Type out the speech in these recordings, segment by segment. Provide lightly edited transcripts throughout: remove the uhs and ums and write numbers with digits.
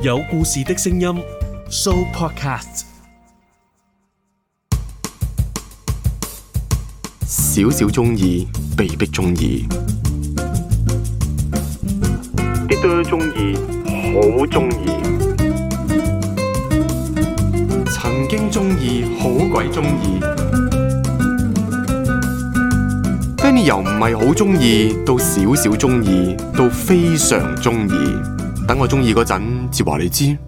有故事的聲音 Show Podcast。 少少中意，被逼中意，啲多中意，好中意，曾經中意，好鬼中意。Benny 由唔係好中意，到少少中意，到非常中意。等我中意嗰陣，至話你知。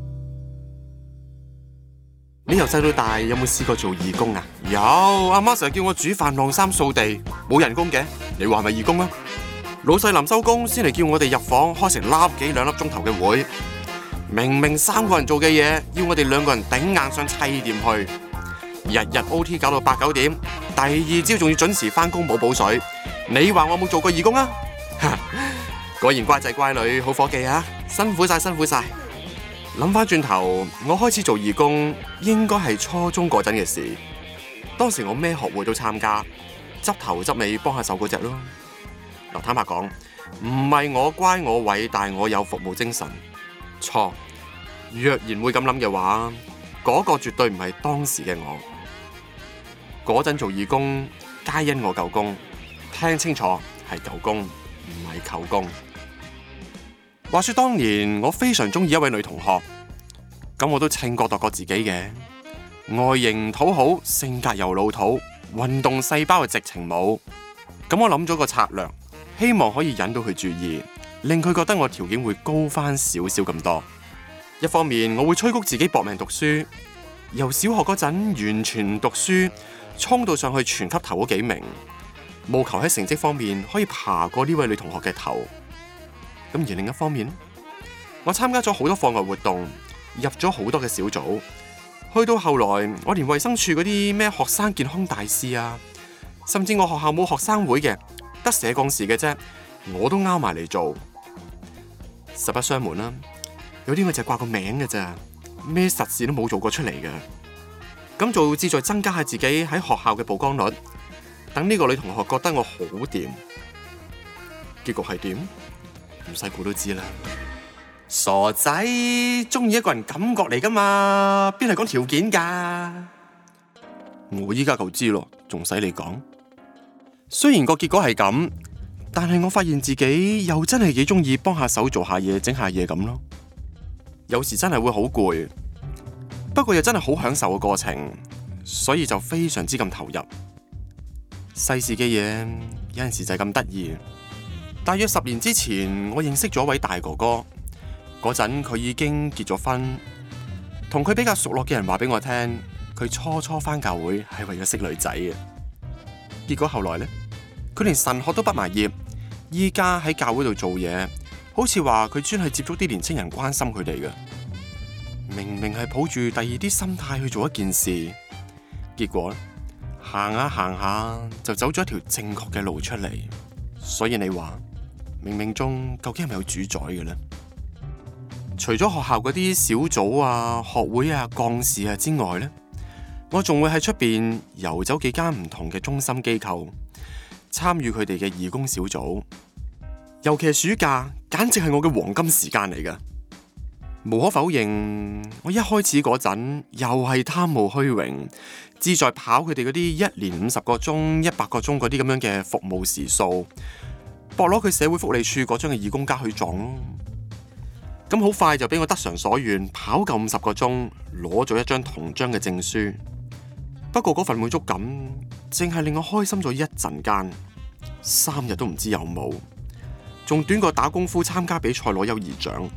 你由細到大有冇試過做義工啊？有，阿媽成日叫我煮飯、晾衫、掃地，冇人工嘅。你話係咪義工啊？老細臨收工先嚟叫我哋入房開成幾兩粒鐘頭嘅會，明明3個人做嘅嘢，要我哋2個人頂硬上砌掂去，日日 OT 搞到8、9點，第二朝仲要準時返工冇補水。你話我冇做過義工啊？果然乖仔乖女，好伙計啊！辛苦晒，辛苦晒。諗翻轉頭，我開始做義工應該係初中嗰陣嘅事。當時我咩學會都參加，執頭執尾幫下手嗰隻咯。嗱，坦白講，唔係我乖我偉，但我有服務精神。錯，若然會咁諗嘅話，嗰個絕對唔係當時嘅我。嗰陣做義工，皆因我夠工，聽清楚係夠工，唔係扣工。話說當年我非常中意一位女同學，咁我都稱過度過自己嘅，外形討好，性格又老土，運動細胞係直情冇。咁我諗咗個策略，希望可以引到佢注意，令佢覺得我條件會高翻少少咁多。一方面我會催谷自己搏命讀書，由小學嗰陣完全唔讀書，衝到上去全級頭嗰幾名，務求喺成績方面可以爬過呢位女同學嘅頭。咁而另一方面，我參加咗好多課外活動，入咗好多嘅小組，去到後來我連衛生署嗰啲咩學生健康大使啊，甚至我學校冇學生會嘅，得社幹事嘅啫，我都拗埋嚟做。實不相瞞啦，有啲我就掛個名嘅咋，咩實事都冇做過出嚟嘅。咁做志在增加下自己喺學校嘅曝光率，等呢個女同學覺得我好掂。結局係點？唔使估都知啦。傻仔，中意一個人感覺嚟噶嘛，邊係講條件噶？我依家就知咯，仲使你講？雖然個結果係咁，但係我發現自己又真係幾中意幫下手做下嘢、整下嘢咁咯。有時真係會好攰，不過又真係好享受個過程，所以就非常之咁投入。世事嘅嘢有陣時就係咁得意。大約10年之前，我認識咗一位大哥哥，嗰陣佢已經結咗婚，同佢比較熟絡嘅人話俾我聽，佢初返教會係為咗識女仔嘅。結果後來呢，佢連神學都畢埋業，依家喺教會度做嘢，好似話佢專係接觸啲年青人，關心佢哋嘅。明明係抱住第二啲心態去做一件事，結果行下就走咗一條正確嘅路出嚟。所以你話，冥冥中究竟係咪有主宰嘅呢？除咗學校嗰啲小組啊、學會啊、幹事啊之外呢，我仲會喺出邊遊走幾間唔同嘅中心機構，參與佢哋嘅義工小組。尤其係暑假，簡直係我嘅黃金時間嚟㗎。無可否認，我一開始嗰陣又係貪慕虛榮，志在跑佢哋嗰啲1年50個鐘、100個鐘嗰啲咁樣嘅服務時數，搏攞佢社會福利處嗰張嘅義工卡去撞咯。咁好快就俾我得償所願，跑夠50個鐘，攞咗一張銅章嘅證書。不過嗰份滿足感，淨係令我開心咗一陣間，3日都唔知有冇，仲短過打功夫參加比賽攞優異獎。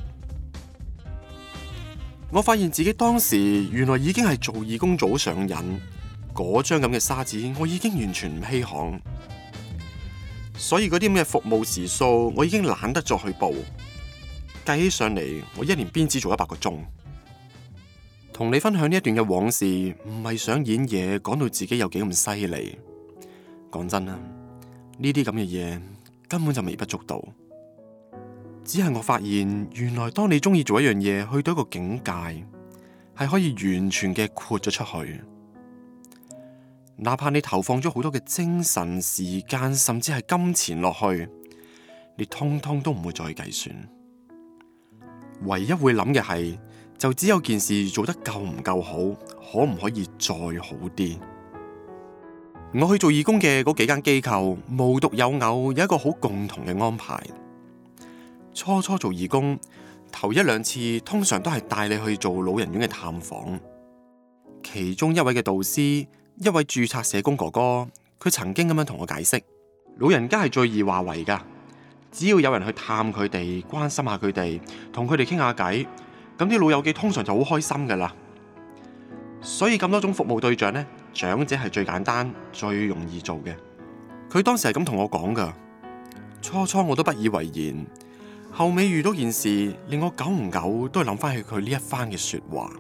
我發現自己當時原來已經係做義工早上癮，嗰張咁嘅沙紙我已經完全唔稀罕，所以嗰啲咁嘅服務時數我已經懶得再去報，計起上嚟我1年邊只做100個鐘。同你分享呢一段嘅往事，唔係想演嘢講到自己有幾咁犀利，講真啦，呢啲咁嘅嘢根本就微不足道。只係我發現，原來當你中意做一樣嘢，去到一個境界，係可以完全嘅豁咗出去。哪怕你投放咗好多嘅精神、時間，甚至係金錢落去，你通通都唔會再計算。 唯一會諗嘅係，就只有件事做得夠唔夠好，可唔可以再好啲？我去做義工嘅嗰幾間機構，無獨有偶，有一個好共同嘅安排。初初做義工，頭一兩次通常都係帶你去做老人院嘅探訪。其中一位嘅導師，一位註冊社工哥哥，佢曾經咁樣同我解釋，老人家係最易話為噶，只要有人去探佢哋，關心下佢哋，同佢哋傾下偈，咁啲老友記通常就好開心噶啦。所以咁多種服務對象呢，長者係最簡單、最容易做嘅。佢當時係咁同我講噶，初初我都不以為然，後尾遇到件事，令我久唔久都係諗翻起佢呢一番嘅說話。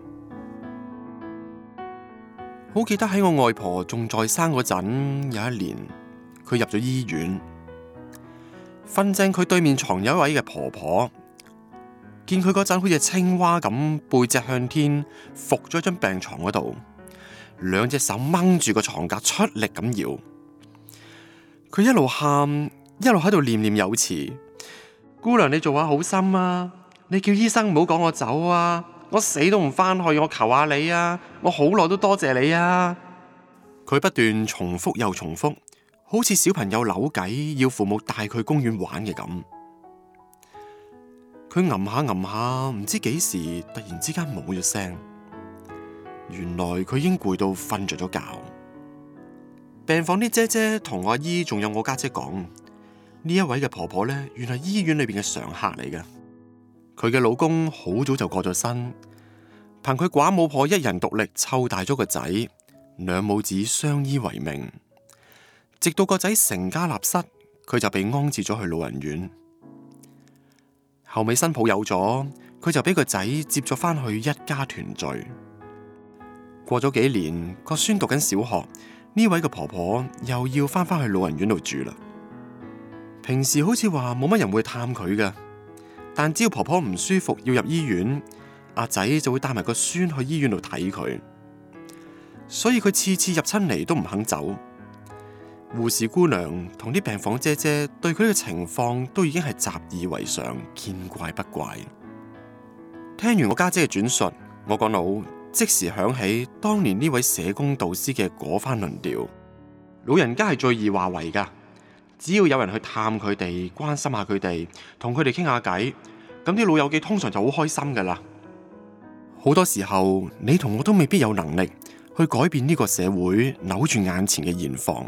好記得喺我外婆仲在生嗰陣，有一年佢入咗醫院，瞓正佢對面床有一位嘅婆婆，見佢嗰陣好似青蛙咁背脊向天伏咗張病床嗰度，兩隻手掹住個床架出力咁搖，佢一路喊一路喺度念念有詞：姑娘你做下好心啊，你叫醫生唔好趕我走啊，我死都唔返去，我求下你啊，我好耐都多謝你啊。佢不斷重複又重複，好似小朋友扭計要父母帶佢公園玩嘅咁。佢吟下吟下，唔知幾時突然之間冇咗聲。原來佢已經攰到瞓着咗覺。病房啲姐姐同我阿姨仲有我家姐講，呢一位嘅婆婆呢，原來醫院裏邊嘅常客嚟嘅。佢嘅老公好早就過咗身，憑佢寡母婆一人獨力湊大咗個仔，兩母子相依為命，直到個仔成家立室，佢就被安置咗去老人院。後尾新抱有咗，佢就俾個仔接咗返去一家團聚。過咗幾年，個孫讀緊小學，呢位嘅婆婆又要返去老人院度住啦。平時好似話冇乜人會探佢㗎，但只要婆婆唔舒服要入醫院，阿仔就會帶埋個孫去醫院度睇佢。所以佢次次入親嚟都唔肯走。護士姑娘同啲病房姐姐對佢呢個情況都已經係習以為常，見怪不怪。聽完我家姐嘅轉述，我個腦即時響起當年呢位社工導師嘅嗰番論調：老人家係最易話為噶，只要有人去探佢哋，關心下佢哋，同佢哋傾下偈，咁啲老友記通常就好開心噶啦。好多時候，你同我都未必有能力去改變呢個社會扭住眼前嘅現況。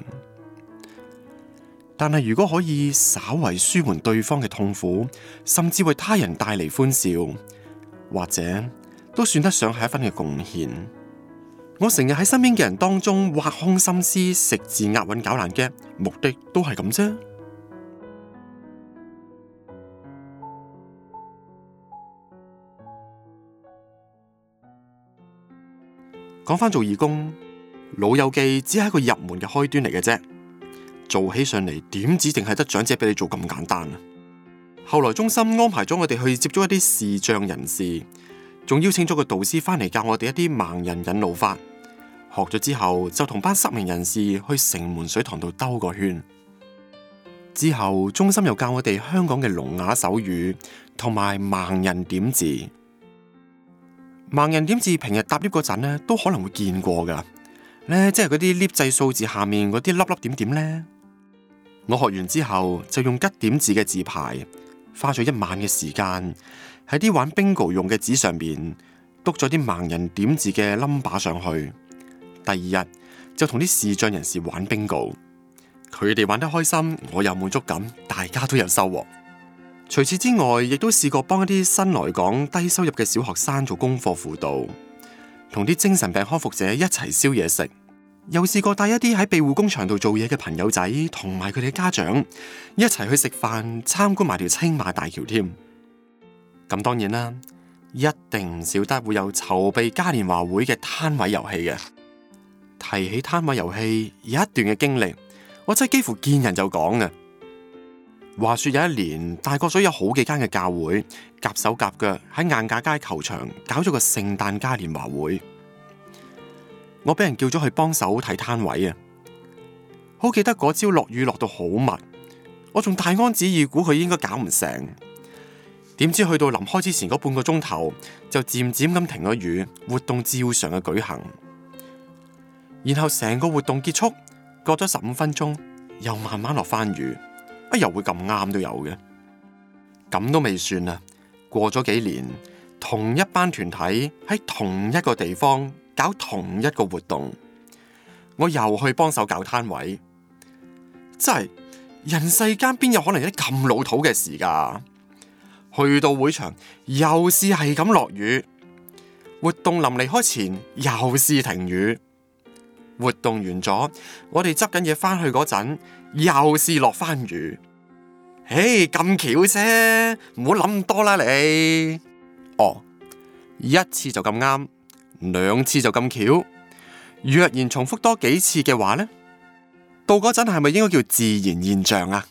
但係如果可以稍為舒緩對方嘅痛苦，甚至為他人帶嚟歡笑，或者都算得上係一分嘅貢獻。我成日喺身邊嘅人當中挖空心思食字押韻搞爛嘅目的都係咁啫。講返做義工，老友記只係一個入門嘅開端嚟嘅啫。做起上嚟點止淨係得長者俾你做咁簡單啊！後來中心安排咗我哋去接觸一啲視障人士，仲邀請咗個導師返嚟教我哋一啲盲人引路法。學咗之後就同班失明人士去城門水塘度兜個圈。之後中心又教我哋香港嘅聾啞手語同埋盲人點字。盲人點字平日搭 lift 嗰陣呢都可能會見過噶，即係嗰啲 lift 掣數字下面嗰啲粒粒點點呢。我學完之後就用吉點字嘅字牌，花咗一晚嘅時間喺啲玩 bingo 用嘅紙上面篤咗啲盲人點字嘅 number 上去。第二日就同啲視障人士玩 bingo， 佢哋玩得開心，我有滿足感，大家都有收穫。除此之外，亦都試過幫一啲新來港低收入嘅小學生做功課輔導，同啲精神病康復者一齊燒嘢食。又試過帶一啲喺庇護工場度做嘢嘅朋友仔同埋佢哋嘅家長一齊去食飯，參觀埋條青馬大橋添。咁當然啦，一定唔少得會有籌備嘉年華會嘅攤位遊戲嘅。提起攤位遊戲，有一段嘅經歷，我真係幾乎見人就講嘅。話說有一年，大角咀有好幾間嘅教會夾手夾腳喺晏架街球場搞咗個聖誕嘉年華會。我俾人叫咗去幫手睇攤位啊！好記得嗰朝落雨落到好密，我仲大安旨意估佢應該搞唔成。 點知去到臨開之前嗰半個鐘頭，就漸漸咁停咗雨，活動照常嘅舉行。然後成個活動結束，過咗15分鐘，又慢慢落翻雨，又會咁啱都有嘅。咁都未算啊，過咗幾年，同一班團體喺同一個地方搞同一個活動，我又去幫手搞攤位。真係人世間邊有可能有啲咁老土嘅事㗎？去到會場又係咁落雨，活動臨離開前又係停雨，活動完咗，我哋執緊嘢翻去嗰陣又係落翻雨。咁巧啫，唔好諗咁多啦你。一次就咁啱，2次就咁巧，若然重複多幾次嘅話呢，到嗰陣係咪應該叫自然現象啊？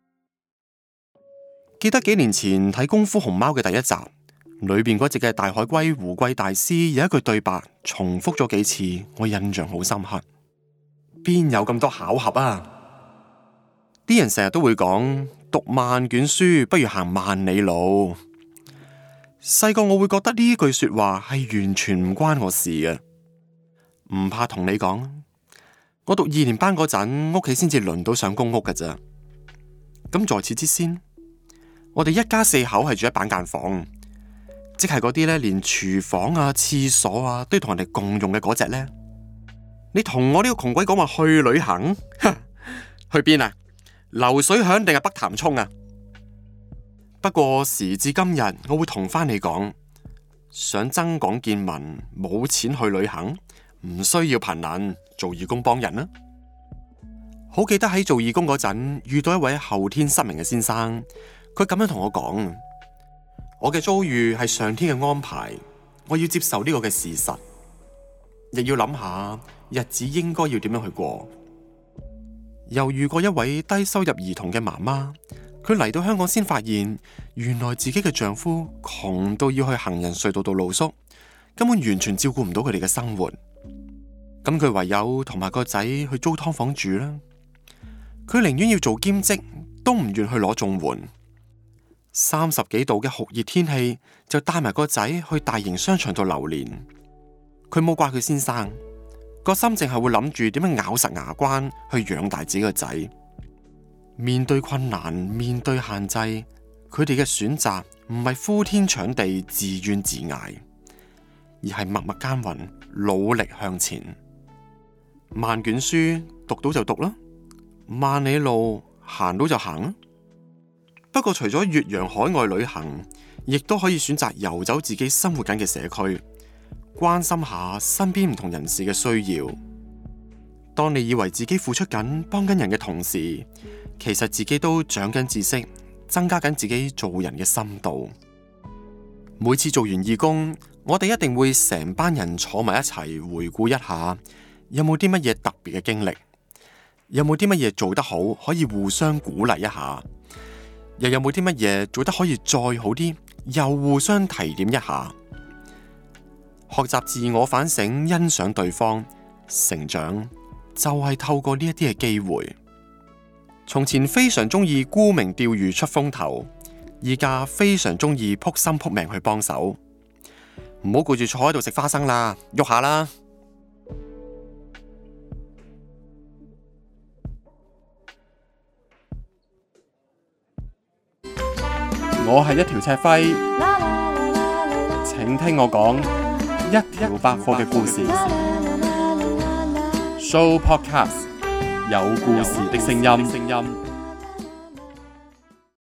記得幾年前睇《功夫熊貓》嘅第1集，裏邊嗰隻嘅大海龜胡貴大師有一句對白重複咗幾次，我印象好深刻。邊有咁多巧合啊？啲人成日都會講，讀萬卷書不如行萬里路。細個我會覺得呢句說話係完全唔關我事嘅。唔怕同你講，我讀2年班嗰陣，屋企先至輪到上公屋㗎咋。咁在此之先，我哋一家4口係住喺板間房，即係嗰啲咧連廚房啊、廁所啊都要同人哋共用嘅嗰隻呢。你同我呢個窮鬼講話去旅行，去邊啊？流水響定係北潭涌啊？不過時至今日，我會同翻你講，想增廣見聞，冇錢去旅行，唔需要貧能，做義工幫人啦。好記得喺做義工嗰陣，遇到一位後天失明嘅先生，佢咁樣同我講：我嘅遭遇係上天嘅安排，我要接受呢個嘅事實，亦要諗下日子應該要點樣去過。又遇過一位低收入兒童嘅媽媽，佢嚟到香港先發現，原來自己嘅丈夫窮到要去行人隧道度露宿，根本完全照顧唔到佢哋嘅生活。咁佢唯有同埋個仔去租劏房住啦。佢寧願要做兼職，都唔願去攞綜援。30幾度嘅酷熱天氣，就帶埋個仔去大型商場度流連。佢冇怪佢先生，個心淨係會諗住點樣咬實牙關去養大自己個仔。面對困難，面對限制，佢哋嘅選擇唔係呼天搶地自怨自艾，而係默默耕耘，努力向前。萬卷書讀到就讀啦，萬里路行到就行啦。不過除咗越洋海外旅行，亦都可以選擇遊走自己生活緊嘅社區，關心下身邊唔同人士嘅需要。當你以為自己付出緊幫緊人嘅同時，其實自己都長緊知識，增加緊自己做人嘅深度。每次做完義工，我哋一定會成班人坐埋一齊回顧一下，有冇啲乜嘢特別嘅經歷，有冇啲乜嘢做得好可以互相鼓勵一下，又有冇啲乜嘢做得可以再好啲，又互相提點一下。學習自我反省，欣賞對方，成長就係透過呢一啲嘅機會。從前非常中意沽名釣譽出風頭，依家非常中意撲心撲命去幫手。唔好顧住坐喺度食花生啦，喐下啦！我係一條赤輝，請聽我講一條百貨嘅故事。Show Podcast， 有故事的聲音。